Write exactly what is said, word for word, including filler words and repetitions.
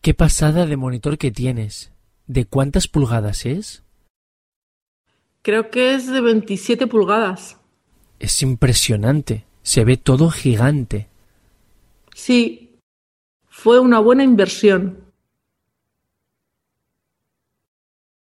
Qué pasada de monitor que tienes. ¿De cuántas pulgadas es? Creo que es de veintisiete pulgadas. Es impresionante. Se ve todo gigante. Sí, fue una buena inversión.